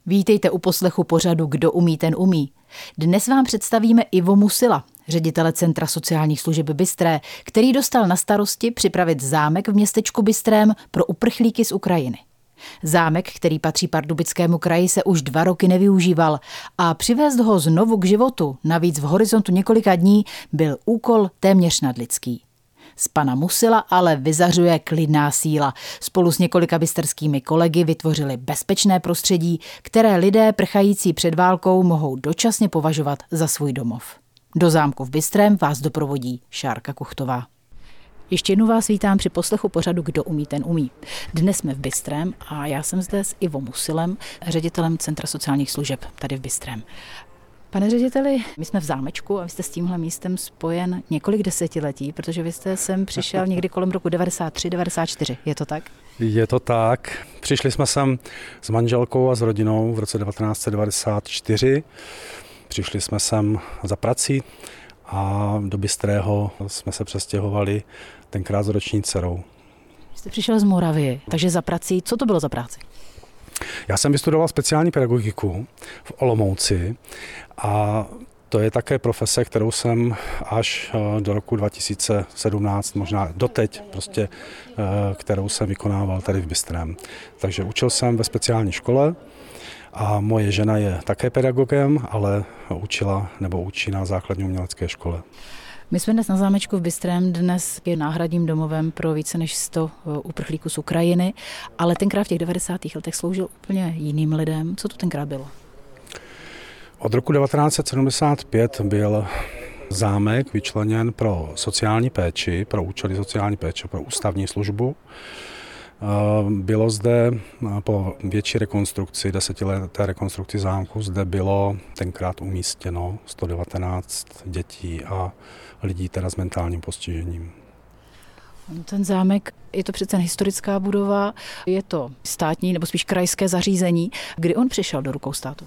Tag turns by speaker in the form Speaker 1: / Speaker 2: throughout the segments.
Speaker 1: Vítejte u poslechu pořadu Kdo umí, ten umí. Dnes vám představíme Ivo Musila, ředitele Centra sociálních služeb Bystré, který dostal na starosti připravit zámek v městečku Bystrém pro uprchlíky z Ukrajiny. Zámek, který patří Pardubickému kraji, se už 2 roky nevyužíval a přivést ho znovu k životu, navíc v horizontu několika dní, byl úkol téměř nadlidský. Z pana Musila ale vyzařuje klidná síla. Spolu s několika bysterskými kolegy vytvořili bezpečné prostředí, které lidé prchající před válkou mohou dočasně považovat za svůj domov. Do zámku v Bystrém vás doprovodí Šárka Kuchtová. Ještě jednou vás vítám při poslechu pořadu Kdo umí, ten umí. Dnes jsme v Bystrém a já jsem zde s Ivo Musilem, ředitelem Centra sociálních služeb tady v Bystrém. Pane řediteli, my jsme v zámečku a vy jste s tímhle místem spojen několik desetiletí, protože vy jste sem přišel někdy kolem roku 93-94, je to tak?
Speaker 2: Je to tak. Přišli jsme sem s manželkou a s rodinou v roce 1994. Přišli jsme sem za prací a do Bystrého jsme se přestěhovali tenkrát s roční dcerou.
Speaker 1: Vy jste přišel z Moravy, takže za prací, co to bylo za práci?
Speaker 2: Já jsem vystudoval speciální pedagogiku v Olomouci a to je také profese, kterou jsem až do roku 2017, možná doteď, kterou jsem vykonával tady v Bystrém. Takže učil jsem ve speciální škole a moje žena je také pedagogem, ale učí na základní umělecké škole.
Speaker 1: My jsme dnes na zámečku v Bystrém, dnes je náhradním domovem pro více než 100 uprchlíků z Ukrajiny, ale tenkrát v těch 90. letech sloužil úplně jiným lidem. Co to tenkrát bylo?
Speaker 2: Od roku 1975 byl zámek vyčleněn pro sociální péči, pro účely sociální péče, pro ústavní službu. Bylo zde po větší rekonstrukci, 10leté rekonstrukci zámku, zde bylo tenkrát umístěno 119 dětí a lidí teda s mentálním postižením.
Speaker 1: Ten zámek, je to přece historická budova, je to státní nebo spíš krajské zařízení. Kdy on přišel do rukou státu?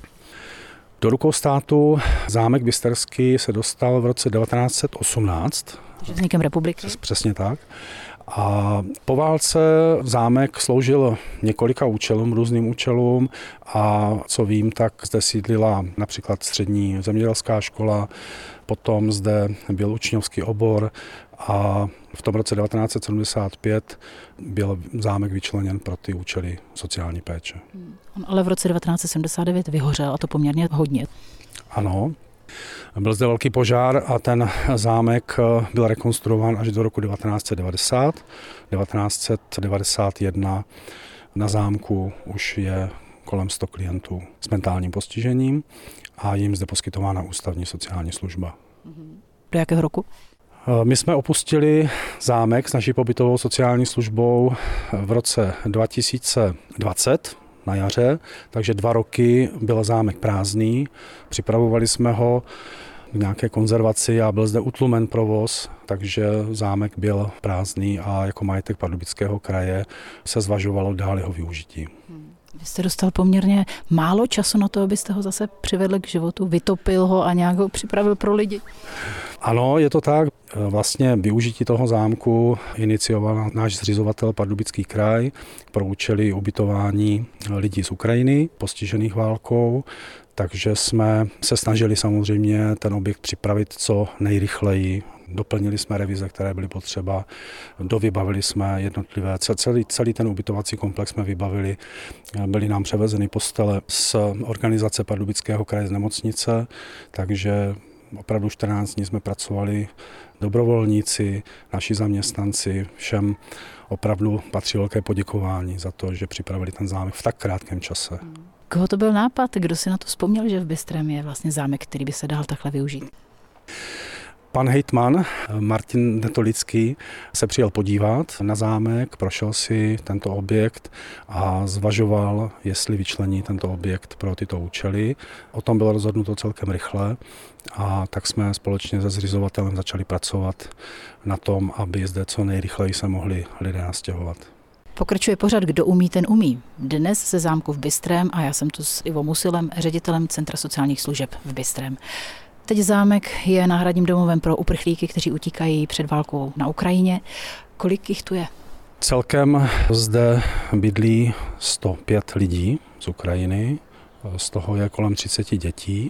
Speaker 2: Do rukou státu zámek bysterský se dostal v roce 1918.
Speaker 1: Takže vznikem republiky?
Speaker 2: Přesně tak. A po válce zámek sloužil několika účelům, různým účelům a co vím, tak zde sídlila například střední zemědělská škola, potom zde byl učňovský obor a v tom roce 1975 byl zámek vyčleněn pro ty účely sociální péče.
Speaker 1: On ale v roce 1979 vyhořel a to poměrně hodně.
Speaker 2: Ano. Byl zde velký požár a ten zámek byl rekonstruován až do roku 1990. 1991 na zámku už je kolem 100 klientů s mentálním postižením a jim zde poskytována ústavní sociální služba.
Speaker 1: Do jakého roku?
Speaker 2: My jsme opustili zámek s naší pobytovou sociální službou v roce 2020. Na jaře, takže 2 roky byl zámek prázdný, připravovali jsme ho k nějaké konzervaci a byl zde utlumen provoz, takže zámek byl prázdný a jako majetek Pardubického kraje se zvažovalo dál jeho využití.
Speaker 1: Vy jste dostal poměrně málo času na to, abyste ho zase přivedli k životu, vytopil ho a nějak ho připravil pro lidi.
Speaker 2: Ano, je to tak. Vlastně využití toho zámku inicioval náš zřizovatel Pardubický kraj pro účely ubytování lidí z Ukrajiny, postižených válkou, takže jsme se snažili samozřejmě ten objekt připravit co nejrychleji. Doplnili jsme revize, které byly potřeba, dovybavili jsme jednotlivé, celý ten ubytovací komplex jsme vybavili, byly nám převezeny postele z organizace Pardubického kraje z nemocnice, takže opravdu 14 dní jsme pracovali, dobrovolníci, naši zaměstnanci, všem opravdu patří velké poděkování za to, že připravili ten zámek v tak krátkém čase.
Speaker 1: Koho to byl nápad? Kdo si na to vzpomněl, že v Bystrém je vlastně zámek, který by se dal takhle využít?
Speaker 2: Pan hejtman Martin Netolický se přijel podívat na zámek, prošel si tento objekt a zvažoval, jestli vyčlení tento objekt pro tyto účely. O tom bylo rozhodnuto celkem rychle a tak jsme společně se zřizovatelem začali pracovat na tom, aby zde co nejrychleji se mohli lidé nastěhovat.
Speaker 1: Pokračuje pořad Kdo umí, ten umí. Dnes ze zámku v Bystrém a já jsem tu s Ivo Musilem, ředitelem Centra sociálních služeb v Bystrém. Teď zámek je náhradním domovem pro uprchlíky, kteří utíkají před válkou na Ukrajině. Kolik jich tu je?
Speaker 2: Celkem zde bydlí 105 lidí z Ukrajiny z toho je kolem 30 dětí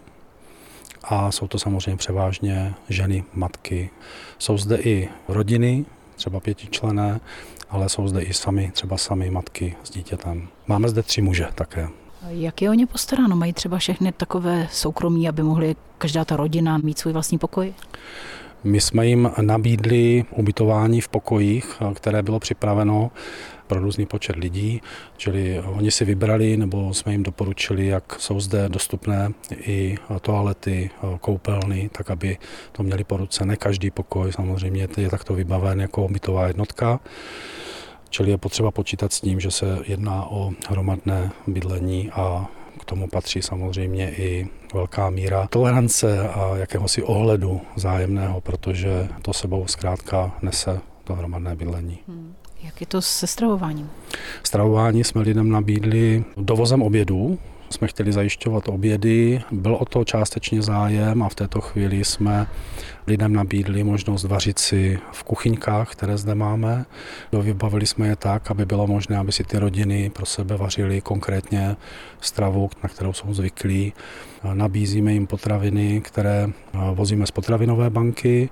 Speaker 2: a jsou to samozřejmě převážně ženy, matky. Jsou zde i rodiny, třeba 5členné, ale jsou zde i třeba sami matky s dítětem. Máme zde 3 muže také.
Speaker 1: Jak je o ně postaráno? Mají třeba všechny takové soukromí, aby mohli každá ta rodina mít svůj vlastní pokoj?
Speaker 2: My jsme jim nabídli ubytování v pokojích, které bylo připraveno pro různý počet lidí, čili oni si vybrali, nebo jsme jim doporučili, jak jsou zde dostupné i toalety, koupelny, tak aby to měli po ruce. Ne každý pokoj samozřejmě je takto vybaven jako bytová jednotka, čili je potřeba počítat s tím, že se jedná o hromadné bydlení a k tomu patří samozřejmě i velká míra tolerance a jakéhosi ohledu vzájemného, protože to sebou zkrátka nese to hromadné bydlení.
Speaker 1: Jak je to se stravováním?
Speaker 2: Stravování jsme lidem nabídli dovozem obědů. Jsme chtěli zajišťovat obědy, byl o to částečně zájem a v této chvíli jsme lidem nabídli možnost vařit si v kuchyňkách, které zde máme. Vybavili jsme je tak, aby bylo možné, aby si ty rodiny pro sebe vařily konkrétně stravu, na kterou jsou zvyklí. Nabízíme jim potraviny, které vozíme z potravinové banky.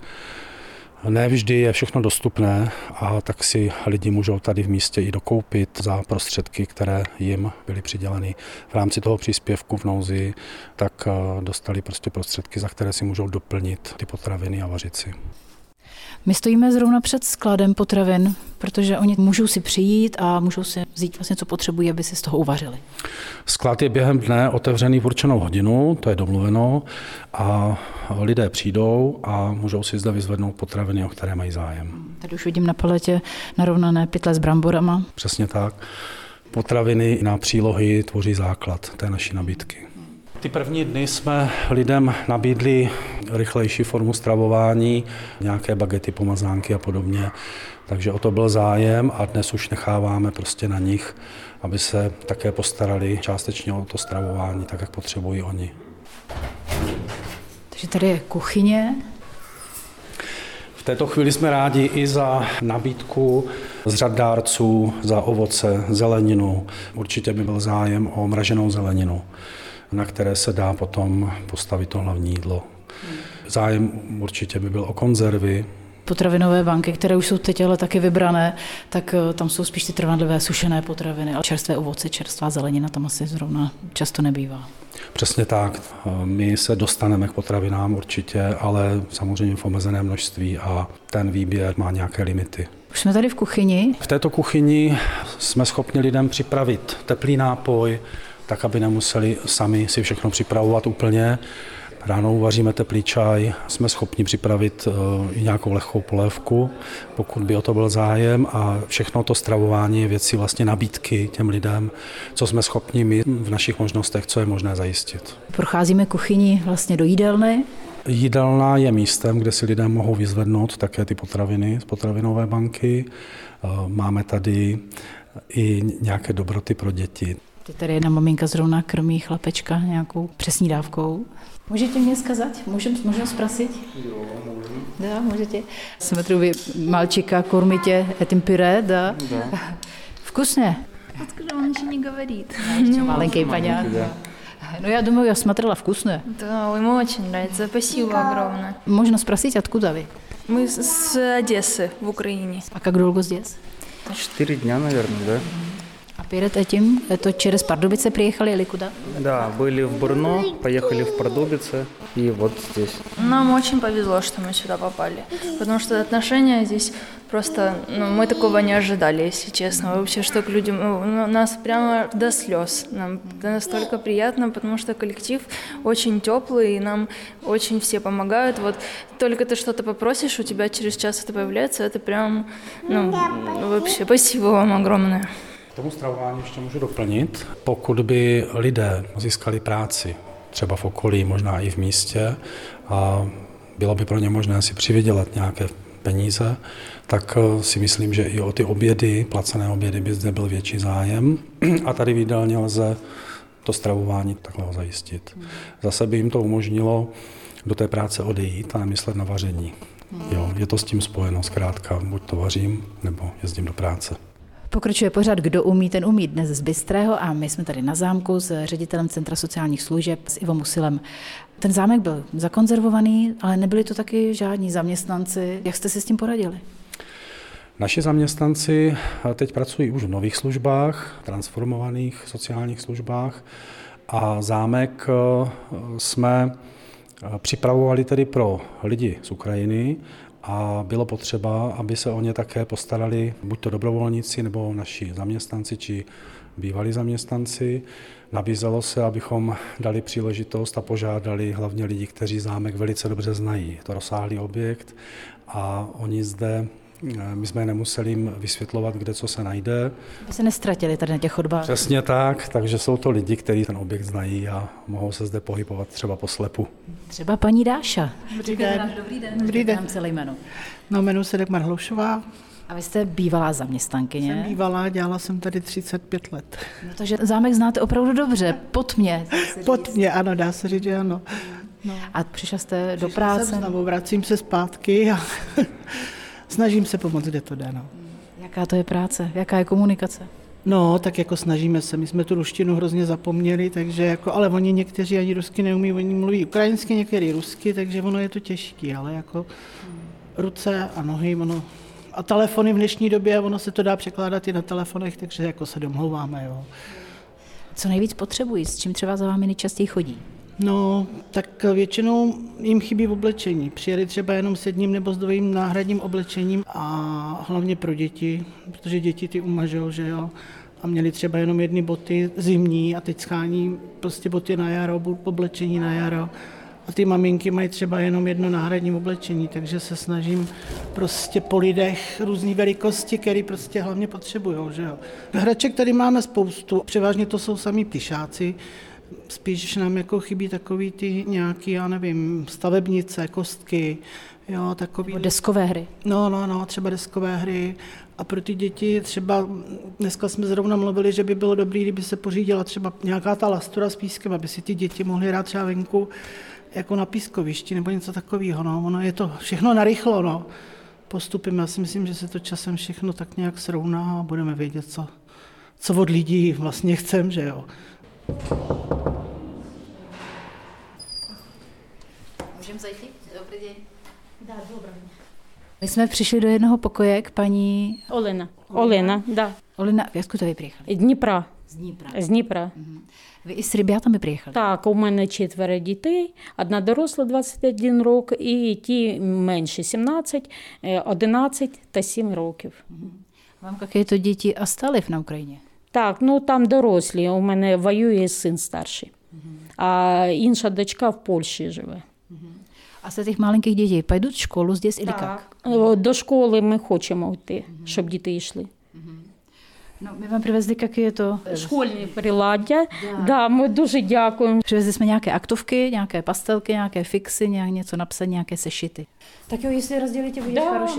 Speaker 2: Ne vždy je všechno dostupné a tak si lidi můžou tady v místě i dokoupit za prostředky, které jim byly přiděleny v rámci toho příspěvku v nouzi, tak dostali prostě prostředky, za které si můžou doplnit ty potraviny a vařit si.
Speaker 1: My stojíme zrovna před skladem potravin, protože oni můžou si přijít a můžou si vzít vlastně, co potřebují, aby si z toho uvařili.
Speaker 2: Sklad je během dne otevřený v určenou hodinu, to je domluveno, a lidé přijdou a můžou si zde vyzvednout potraviny, o které mají zájem.
Speaker 1: Tady už vidím na paletě narovnané pytle s bramborama.
Speaker 2: Přesně tak. Potraviny na přílohy tvoří základ té naší nabídky. Ty první dny jsme lidem nabídli rychlejší formu stravování, nějaké bagety, pomazánky a podobně. Takže o to byl zájem a dnes už necháváme prostě na nich, aby se také postarali částečně o to stravování, tak jak potřebují oni.
Speaker 1: Takže tady je kuchyně.
Speaker 2: V této chvíli jsme rádi i za nabídku z řad dárců, za ovoce, zeleninu. Určitě by byl zájem o mraženou zeleninu, na které se dá potom postavit to hlavní jídlo. Zájem určitě by byl o konzervy.
Speaker 1: Potravinové banky, které už jsou teď ale taky vybrané, tak tam jsou spíš ty trvanlivé sušené potraviny, ale čerstvé ovoce, čerstvá zelenina tam asi zrovna často nebývá.
Speaker 2: Přesně tak. My se dostaneme k potravinám určitě, ale samozřejmě v omezené množství a ten výběr má nějaké limity.
Speaker 1: Už jsme tady v kuchyni.
Speaker 2: V této kuchyni jsme schopni lidem připravit teplý nápoj, tak aby nemuseli sami si všechno připravovat úplně. Ráno uvaříme teplý čaj, jsme schopni připravit i nějakou lehkou polévku, pokud by o to byl zájem, a všechno to stravování je věcí vlastně nabídky těm lidem, co jsme schopni my v našich možnostech, co je možné zajistit.
Speaker 1: Procházíme kuchyni vlastně do jídelny.
Speaker 2: Jídelna je místem, kde si lidé mohou vyzvednout také ty potraviny z potravinové banky. Máme tady i nějaké dobroty pro děti.
Speaker 1: Tady jedna maminka zrovna krmí chlapečka nějakou přesní dávkou. Můžete mě skazat? Můžem sprosit?
Speaker 2: Jo, můžu.
Speaker 1: Да, můžete. Смотрю, вы мальчика кормите этим пюре, да?
Speaker 2: Да.
Speaker 1: Вкусное?
Speaker 3: Откуда он еще не говорит?
Speaker 1: Маленький, понятно. Ну, я думаю, я смотрела вкусное.
Speaker 3: Да, ему очень нравится. Спасибо огромное.
Speaker 1: Можно спросить, откуда вы?
Speaker 3: Мы с Одессы в Украине.
Speaker 1: А как долго здесь?
Speaker 4: 4 дня, наверное, да?
Speaker 1: А перед этим, это через Пардубице приехали или куда?
Speaker 4: Да, были в Брно, поехали в Пардубице и вот здесь.
Speaker 3: Нам очень повезло, что мы сюда попали, потому что отношения здесь просто, мы такого не ожидали, если честно. Вообще, что к людям, нас прямо до слез. Нам настолько приятно, потому что коллектив очень теплый, и нам очень все помогают. Вот только ты что-то попросишь, у тебя через час это появляется, это прям, вообще, спасибо vám огромное.
Speaker 2: K tomu stravování ještě můžu doplnit. Pokud by lidé získali práci, třeba v okolí, možná i v místě, a bylo by pro ně možné si přivydělat nějaké peníze, tak si myslím, že i o ty obědy, placené obědy, by zde byl větší zájem. A tady v jídelně lze to stravování takhle zajistit. Zase by jim to umožnilo do té práce odejít a nemyslet na vaření. Jo, je to s tím spojeno, zkrátka, buď to vařím, nebo jezdím do práce.
Speaker 1: Pokračuje pořad Kdo umí, ten umí, dnes z Bystrého a my jsme tady na zámku s ředitelem Centra sociálních služeb s Ivo Musilem. Ten zámek byl zakonzervovaný, ale nebyli to taky žádní zaměstnanci. Jak jste si s tím poradili?
Speaker 2: Naši zaměstnanci teď pracují už v nových službách, transformovaných sociálních službách a zámek jsme připravovali tedy pro lidi z Ukrajiny a bylo potřeba, aby se o ně také postarali buď to dobrovolníci nebo naši zaměstnanci či bývalí zaměstnanci. Nabízelo se, abychom dali příležitost a požádali hlavně lidi, kteří zámek velice dobře znají. Je to rozsáhlý objekt a oni zde, my jsme nemuseli jim vysvětlovat, kde co se najde.
Speaker 1: Aby se nestratili tady na těch chodbách.
Speaker 2: Přesně tak, takže jsou to lidi, kteří ten objekt znají a mohou se zde pohybovat třeba po slepu.
Speaker 1: Třeba paní Dáša.
Speaker 5: Dobrý den.
Speaker 1: Dobrý den. Celé jméno.
Speaker 5: No, jmenuji se Dagmar Hloušová.
Speaker 1: A vy jste bývalá zaměstnankyně.
Speaker 5: Jsem bývalá, dělala jsem tady 35 let.
Speaker 1: No, takže zámek znáte opravdu dobře, pod mě.
Speaker 5: Pod mě, ano, dá se říct, že ano.
Speaker 1: No. A přišla jste do
Speaker 5: Přišla
Speaker 1: práce?
Speaker 5: jsem znovu, vracím se zpátky a snažím se pomoct, kde to jde. No.
Speaker 1: Jaká to je práce? Jaká je komunikace?
Speaker 5: No, tak jako snažíme se. My jsme tu ruštinu hrozně zapomněli, takže jako, ale oni někteří ani rusky neumí, oni mluví ukrajinsky, některý rusky, takže ono je to těžké, ale jako ruce a nohy, ono. A telefony v dnešní době, ono se to dá překládat i na telefonech, takže jako se domlouváme, jo.
Speaker 1: Co nejvíc potřebují? S čím třeba za vámi nejčastěji chodí?
Speaker 5: No, tak většinou jim chybí oblečení. Přijeli třeba jenom s jedním nebo s dvojím náhradním oblečením a hlavně pro děti, protože děti ty umažou, že jo. A měli třeba jenom jedny boty zimní a teď schání prostě boty na jaro, oblečení na jaro. A ty maminky mají třeba jenom jedno náhradní oblečení, takže se snažím prostě po lidech různý velikosti, které prostě hlavně potřebujou, že jo. Hraček tady máme spoustu, převážně to jsou sami ptyšáci, spíš nám jako chybí takový ty nějaký, já nevím, stavebnice, kostky, jo, takový.
Speaker 1: Nebo deskové hry.
Speaker 5: No, třeba deskové hry. A pro ty děti třeba, dneska jsme zrovna mluvili, že by bylo dobré, kdyby se pořídila třeba nějaká ta lastura s pískem, aby si ty děti mohly hrát třeba venku, jako na pískovišti nebo něco takového. No. Ono je to všechno narychlo, no. Postupem, já si myslím, že se to časem všechno tak nějak srovná a budeme vědět, co od lidí vlastně chcem, že jo.
Speaker 1: Můžeme zajít? Dobrý den. Dá, dobrý. My jsme přišli do jednoho pokoje k paní...
Speaker 6: Олена, да.
Speaker 1: Olena, откуда ви приїхали?
Speaker 6: Дніпра.
Speaker 1: З Дніпра.
Speaker 6: З Дніпра.
Speaker 1: Ви із ребятами приїхали?
Speaker 6: Так, у мене 4 дітей, одна доросла 21 рок і ті менші 17, 11 та 7 років.
Speaker 1: Вам какие-то діти остались на Україні?
Speaker 6: Так, ну там дорослі, у мене воює син старший, а інша дочка в Польщі живе.
Speaker 1: А з цих маленьких дітей пойдуть в школу здесь или як?
Speaker 6: До школи ми хочемо йти, щоб діти йшли.
Speaker 1: No, my vám přivezli, jaké je to?
Speaker 6: Школьні приладдя, да, ми дуже дякуємо.
Speaker 1: Přivezli jsme nějaké aktovky, nějaké pastelky, nějaké fixy, něco napsané, nějaké sešity. Tak jo, jestli rozdělíte, bude хороше.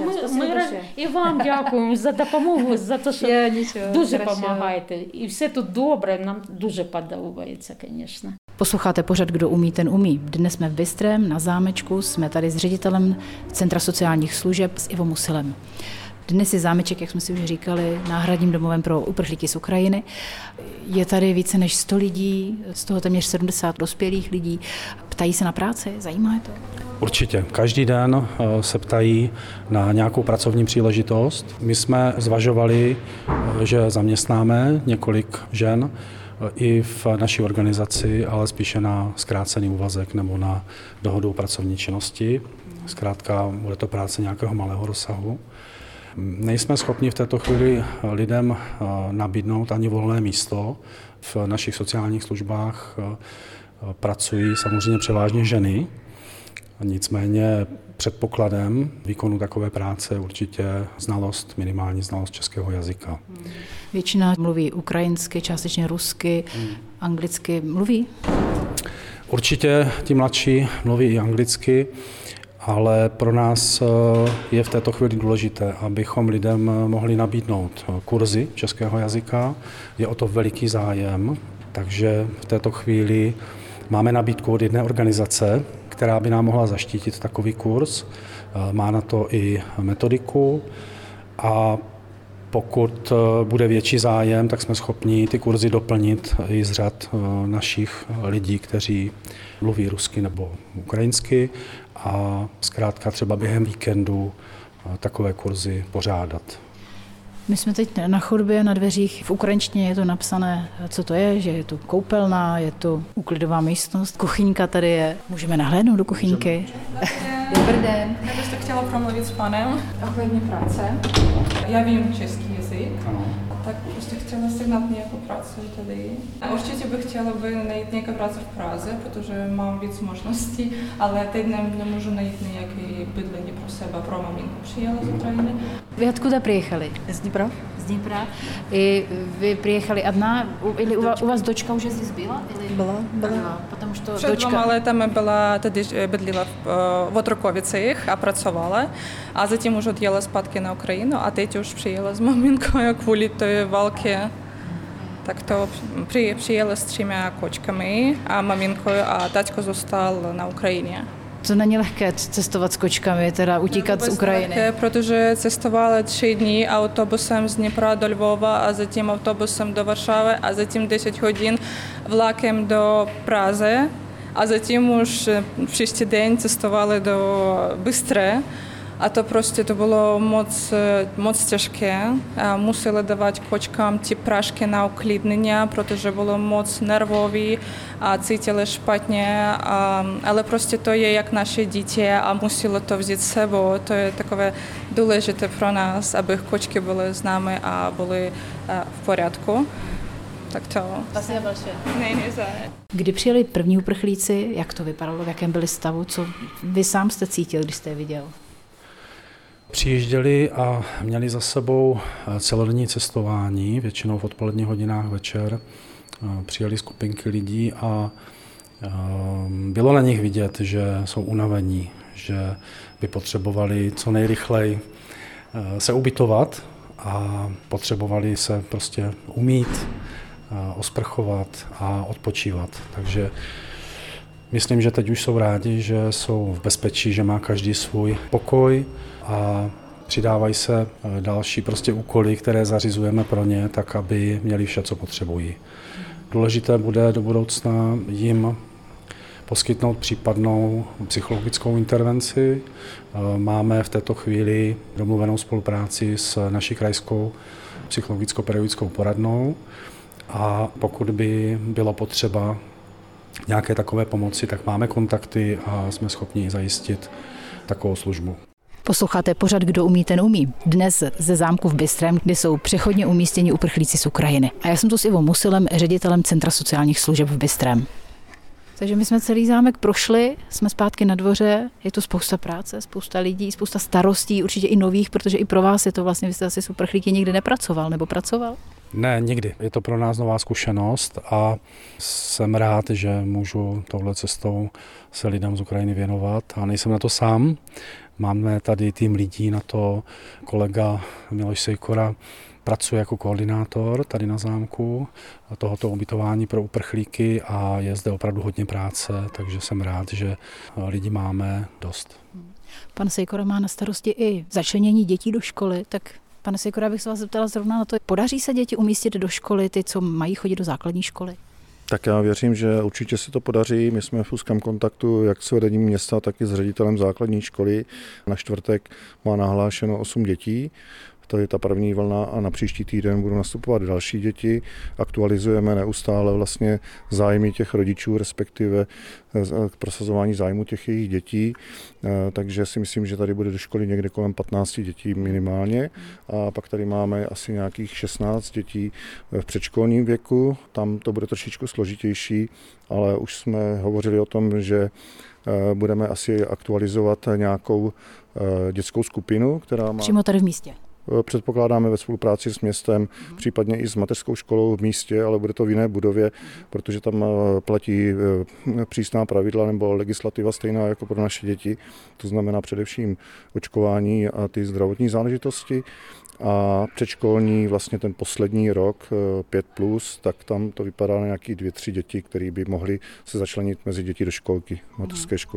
Speaker 6: І вам дякуємо за допомогу, за те, що дуже допомагаєте. І все тут добре, нам дуже подобається, звісно.
Speaker 1: Posloucháte pořad Kdo umí, ten umí. Dnes jsme v Bystrém, na zámečku, jsme tady s ředitelem Centra sociálních služeb s Ivo Musilem. Dnes je zámeček, jak jsme si už říkali, náhradním domovem pro uprchlíky z Ukrajiny. Je tady více než 100 lidí, z toho téměř 70 dospělých lidí. Ptají se na práci, zajímá je to?
Speaker 2: Určitě. Každý den se ptají na nějakou pracovní příležitost. My jsme zvažovali, že zaměstnáme několik žen i v naší organizaci, ale spíše na zkrácený úvazek nebo na dohodu o pracovní činnosti. Zkrátka bude to práce nějakého malého rozsahu. Nejsme schopni v této chvíli lidem nabídnout ani volné místo. V našich sociálních službách pracují samozřejmě převážně ženy, nicméně předpokladem výkonu takové práce je určitě minimální znalost českého jazyka.
Speaker 1: Většina mluví ukrajinsky, částečně rusky, anglicky. Mluví?
Speaker 2: Určitě ti mladší mluví i anglicky, ale pro nás je v této chvíli důležité, abychom lidem mohli nabídnout kurzy českého jazyka. Je o to veliký zájem, takže v této chvíli máme nabídku od jedné organizace, která by nám mohla zaštítit takový kurz. Má na to i metodiku a Pokud bude větší zájem, tak jsme schopni ty kurzy doplnit i z řad našich lidí, kteří mluví rusky nebo ukrajinsky a zkrátka třeba během víkendu takové kurzy pořádat.
Speaker 1: My jsme teď na chodbě, na dveřích, v ukrajinštině je to napsané, co to je, že je to koupelna, je to úklidová místnost, kuchyňka tady je. Můžeme nahlédnout do kuchyňky? Dobrý den.
Speaker 7: Já bych to chtěla promluvit s panem ohledně práce. Já vím český jazyk, tak prostě chtěla sehnat nějakou práci tady. A určitě bych chtěla najít nějakou práci v Praze, protože mám víc možností, ale teď nemůžu najít nějaké bydlení pro sebe, pro maminku přijela z Ukrajiny.
Speaker 1: Vy odkud přijeli?
Speaker 7: Z Dnipra.
Speaker 1: Z Dnipra. I vy přijeli одна, или у вас дочка уже здесь была?
Speaker 7: Была.
Speaker 1: Потому что
Speaker 7: Před 2 letami byla tady bydlila v Otrukovicích a pracovala, a zatím už odjela zpátky na Ukrajinu a teď už přijela s maminkou kvůli té války. Tak to přijela s 3 kočkami a maminkou a taťko zůstal na Ukrajině.
Speaker 1: To není lehké cestovat s kočkami, teda utíkat z Ukrajiny.
Speaker 7: Lehké, protože cestovala 3 dny autobusem z Dnipra do Lvova a zatím autobusem do Varšavy a zatím 10 hodin vlakem do Prazy a zatím už příští den cestovali do Bystré. A to prostě to bylo moc těžké. Museli dávat kočkám ty prášky na uklidnění, protože bylo moc nervový a cítili špatně. Ale prostě to je jak naše děti a museli to vzít s sebou. To je takové důležité pro nás, aby kočky byly s námi a byly v pořádku. Tak to.
Speaker 1: Spasibo большое.
Speaker 7: Ne, za.
Speaker 1: Kdy přijeli první uprchlíci, jak to vypadalo, v jakém byli stavu, co vy sám jste cítil, když jste je viděl?
Speaker 2: Přijížděli a měli za sebou celodenní cestování, většinou v odpoledních hodinách večer. Přijeli skupinky lidí a bylo na nich vidět, že jsou unavení, že by potřebovali co nejrychleji se ubytovat a potřebovali se prostě umýt, osprchovat a odpočívat. Takže myslím, že teď už jsou rádi, že jsou v bezpečí, že má každý svůj pokoj a přidávají se další prostě úkoly, které zařizujeme pro ně, tak aby měli vše, co potřebují. Důležité bude do budoucna jim poskytnout případnou psychologickou intervenci. Máme v této chvíli domluvenou spolupráci s naší krajskou psychologicko-pedagogickou poradnou a pokud by bylo potřeba nějaké takové pomoci, tak máme kontakty a jsme schopni zajistit takovou službu.
Speaker 1: Posloucháte pořad Kdo umí, ten umí. Dnes ze zámku v Bystrém, kde jsou přechodně umístěni uprchlíci z Ukrajiny. A já jsem tu s Ivou Musilem, ředitelem Centra sociálních služeb v Bystrém. Takže my jsme celý zámek prošli, jsme zpátky na dvoře, je tu spousta práce, spousta lidí, spousta starostí, určitě i nových, protože i pro vás je to vlastně, vy jste asi s uprchlíky nikdy nepracoval, nebo pracoval?
Speaker 2: Ne, nikdy. Je to pro nás nová zkušenost a jsem rád, že můžu touhle cestou se lidem z Ukrajiny věnovat a nejsem na to sám. Máme tady tým lidí na to, kolega Miloš Sejkora pracuje jako koordinátor tady na zámku tohoto ubytování pro uprchlíky a je zde opravdu hodně práce, takže jsem rád, že lidi máme dost.
Speaker 1: Pan Sejkora má na starosti i začlenění dětí do školy, tak pane Sejkora, bych se vás zeptala zrovna na to, podaří se děti umístit do školy, ty, co mají chodit do základní školy?
Speaker 8: Tak já věřím, že určitě se to podaří. My jsme v úzkém kontaktu jak s vedením města, tak i s ředitelem základní školy. Na čtvrtek má nahlášeno 8 dětí. To je ta první vlna a na příští týden budou nastupovat další děti. Aktualizujeme neustále vlastně zájmy těch rodičů, respektive k prosazování zájmu těch jejich dětí. Takže si myslím, že tady bude do školy někde kolem 15 dětí minimálně. A pak tady máme asi nějakých 16 dětí v předškolním věku. Tam to bude trošičku složitější, ale už jsme hovořili o tom, že budeme asi aktualizovat nějakou dětskou skupinu, která má...
Speaker 1: Přímo tady v místě.
Speaker 8: Předpokládáme ve spolupráci s městem, případně i s mateřskou školou v místě, ale bude to v jiné budově, protože tam platí přísná pravidla nebo legislativa stejná jako pro naše děti. To znamená především očkování a ty zdravotní záležitosti. A předškolní vlastně ten poslední rok, 5+, tak tam to vypadá na nějaký 2-3 děti, které by mohly se začlenit mezi děti do školky, mateřské školy.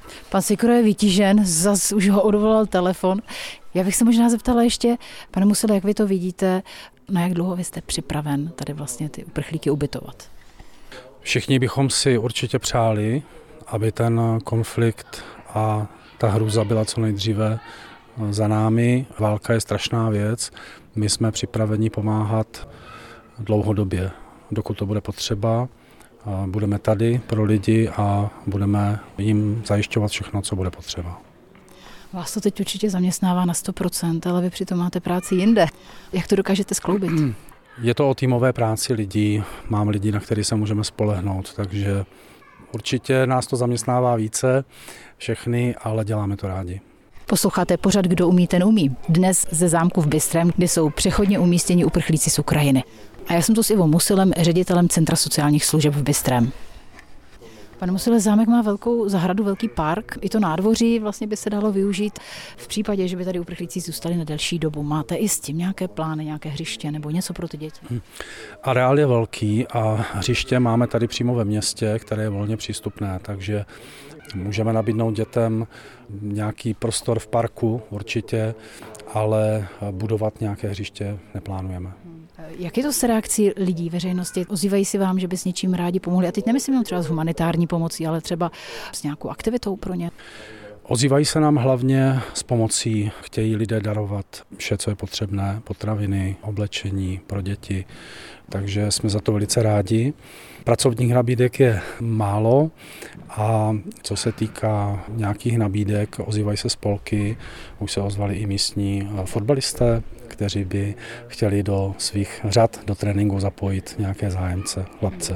Speaker 1: Pan Sikora je vytížen, zas už ho odvolal telefon. Já bych se možná zeptala ještě, pane Musile, jak vy to vidíte, na jak dlouho vy jste připraven tady vlastně ty uprchlíky ubytovat?
Speaker 2: Všichni bychom si určitě přáli, aby ten konflikt a ta hrůza byla co nejdříve za námi. Válka je strašná věc. My jsme připraveni pomáhat dlouhodobě, dokud to bude potřeba. Budeme tady pro lidi a budeme jim zajišťovat všechno, co bude potřeba.
Speaker 1: Vás to teď určitě zaměstnává na 100%, ale vy přitom máte práci jinde. Jak to dokážete skloubit?
Speaker 2: Je to o týmové práci lidí. Mám lidi, na který se můžeme spolehnout, takže určitě nás to zaměstnává více, všechny, ale děláme to rádi.
Speaker 1: Posloucháte pořad Kdo umí, ten umí. Dnes ze zámku v Bystrém, kde jsou přechodně umístěni uprchlíci z Ukrajiny. A já jsem tu s Ivou Musilem, ředitelem Centra sociálních služeb v Bystrém. Pane Musile, zámek má velkou zahradu, velký park. I to nádvoří vlastně by se dalo využít v případě, že by tady uprchlíci zůstali na delší dobu. Máte i s tím nějaké plány, nějaké hřiště nebo něco pro ty děti?
Speaker 2: Areál je velký a hřiště máme tady přímo ve městě, které je volně přístupné, takže můžeme nabídnout dětem nějaký prostor v parku určitě, ale budovat nějaké hřiště neplánujeme.
Speaker 1: Jak je to s reakcí lidí, veřejnosti? Ozývají si vám, že by s něčím rádi pomohli? A teď nemyslím jenom třeba s humanitární pomocí, ale třeba s nějakou aktivitou pro ně?
Speaker 2: Ozývají se nám hlavně s pomocí, chtějí lidé darovat vše, co je potřebné, potraviny, oblečení pro děti, takže jsme za to velice rádi. Pracovních nabídek je málo a co se týká nějakých nabídek, ozývají se spolky, už se ozvali i místní fotbalisté, kteří by chtěli do svých řad, do tréninku zapojit nějaké zájemce, chlapce.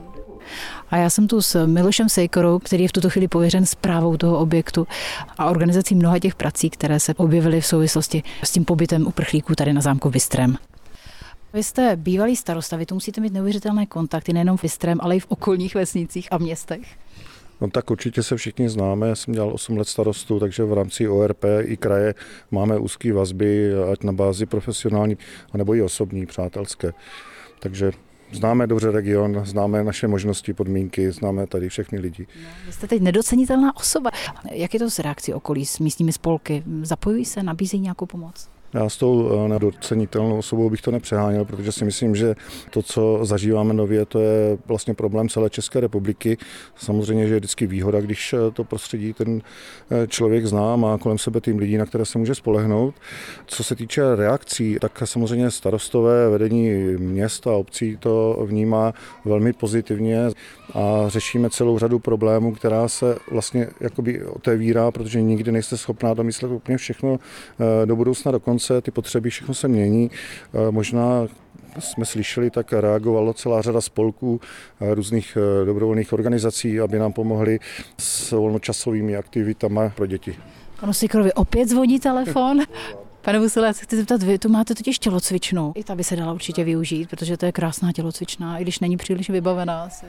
Speaker 1: A já jsem tu s Milošem Sejkorou, který je v tuto chvíli pověřen správou toho objektu a organizací mnoha těch prací, které se objevily v souvislosti s tím pobytem uprchlíků tady na zámku v Bystrém. Vy jste bývalý starosta, vy tu musíte mít neuvěřitelné kontakty nejenom v Bystrém, ale i v okolních vesnicích a městech.
Speaker 8: No tak určitě se všichni známe, já jsem dělal 8 let starostu, takže v rámci ORP i kraje máme úzké vazby, ať na bázi profesionální, anebo i osobní, přátelské. Takže známe dobře region, známe naše možnosti, podmínky, známe tady všechny lidi.
Speaker 1: Vy jste teď nedocenitelná osoba. Jak je to s reakcí okolí, s místními spolky? Zapojují se, nabízejí nějakou pomoc?
Speaker 8: Já s tou nedocenitelnou osobou bych to nepřeháněl, protože si myslím, že to, co zažíváme nově, to je vlastně problém celé České republiky. Samozřejmě, že je vždycky výhoda, když to prostředí ten člověk zná, má kolem sebe tým lidí, na které se může spolehnout. Co se týče reakcí, tak samozřejmě starostové, vedení měst a obcí to vnímá velmi pozitivně a řešíme celou řadu problémů, která se vlastně jakoby otevírá, protože nikdy nejste schopná domyslet úplně všechno do budoucna do konce. Ty potřeby, všechno se mění. Možná jsme slyšeli, tak reagovalo celá řada spolků, různých dobrovolných organizací, aby nám pomohli s volnočasovými aktivitami pro děti.
Speaker 1: Panu Sikorovi opět zvoní telefon. Pane Musile, já se chci zeptat, vy tu máte totiž tělocvičnu. I ta by se dala určitě využít, protože to je krásná tělocvična, i když není příliš vybavená asi.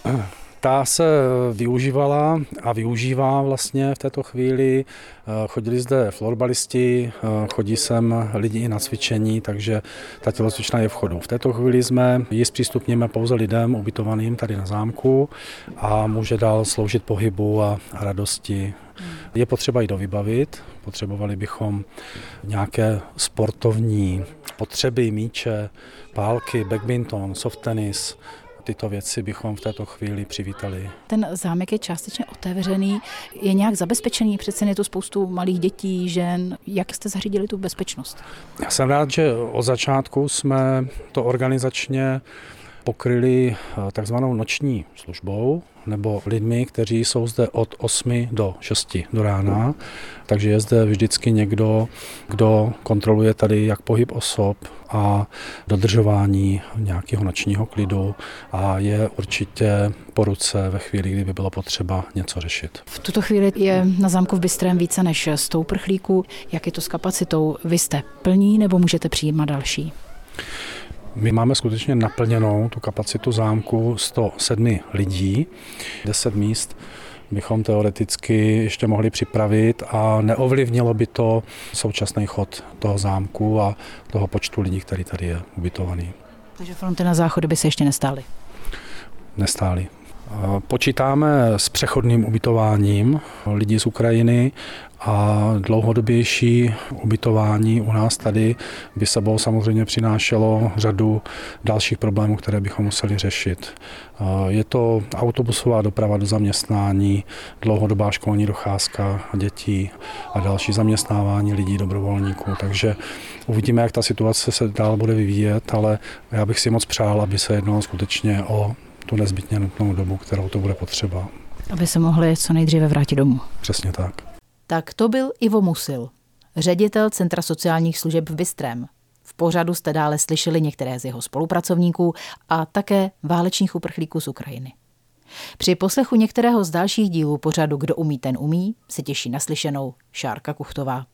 Speaker 2: Ta se využívala a využívá vlastně v této chvíli. Chodili zde florbalisti, chodí sem lidi i na cvičení, takže ta tělocvična je v chodu. V této chvíli jsme ji zpřístupníme pouze lidem ubytovaným tady na zámku a může dál sloužit pohybu a radosti. Je potřeba ji dovybavit, potřebovali bychom nějaké sportovní potřeby, míče, pálky, badminton, soft tenis. Tyto věci bychom v této chvíli přivítali.
Speaker 1: Ten zámek je částečně otevřený, je nějak zabezpečený, přece je tu spoustu malých dětí, žen. Jak jste zařídili tu bezpečnost?
Speaker 2: Já jsem rád, že od začátku jsme to organizačně pokryli takzvanou noční službou, nebo lidmi, kteří jsou zde od 8 do 6 do rána. Takže je zde vždycky někdo, kdo kontroluje tady jak pohyb osob a dodržování nějakého nočního klidu a je určitě po ruce ve chvíli, kdyby bylo potřeba něco řešit.
Speaker 1: V tuto chvíli je na zámku v Bystrém více než 100 uprchlíků. Jak je to s kapacitou? Vy jste plní nebo můžete přijímat další?
Speaker 2: My máme skutečně naplněnou tu kapacitu zámku 107 lidí, 10 míst bychom teoreticky ještě mohli připravit a neovlivnilo by to současný chod toho zámku a toho počtu lidí, který tady je ubytovaný.
Speaker 1: Takže fronty na záchody by se ještě nestály?
Speaker 2: Nestály. Počítáme s přechodným ubytováním lidí z Ukrajiny a dlouhodobější ubytování u nás tady by sebou samozřejmě přinášelo řadu dalších problémů, které bychom museli řešit. Je to autobusová doprava do zaměstnání, dlouhodobá školní docházka dětí a další zaměstnávání lidí, dobrovolníků. Takže uvidíme, jak ta situace se dál bude vyvíjet, ale já bych si moc přál, aby se jednalo skutečně o tu nezbytně nutnou dobu, kterou to bude potřeba.
Speaker 1: Aby se mohli co nejdříve vrátit domů.
Speaker 2: Přesně tak.
Speaker 1: Tak to byl Ivo Musil, ředitel Centra sociálních služeb v Bystrém. V pořadu jste dále slyšeli některé z jeho spolupracovníků a také válečných uprchlíků z Ukrajiny. Při poslechu některého z dalších dílů pořadu Kdo umí, ten umí se těší naslyšenou Šárka Kuchtová.